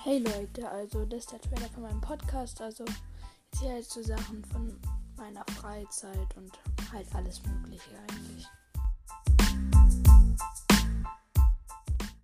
Hey Leute, also das ist der Trailer von meinem Podcast, also ich erzähle halt so Sachen von meiner Freizeit und halt alles Mögliche eigentlich.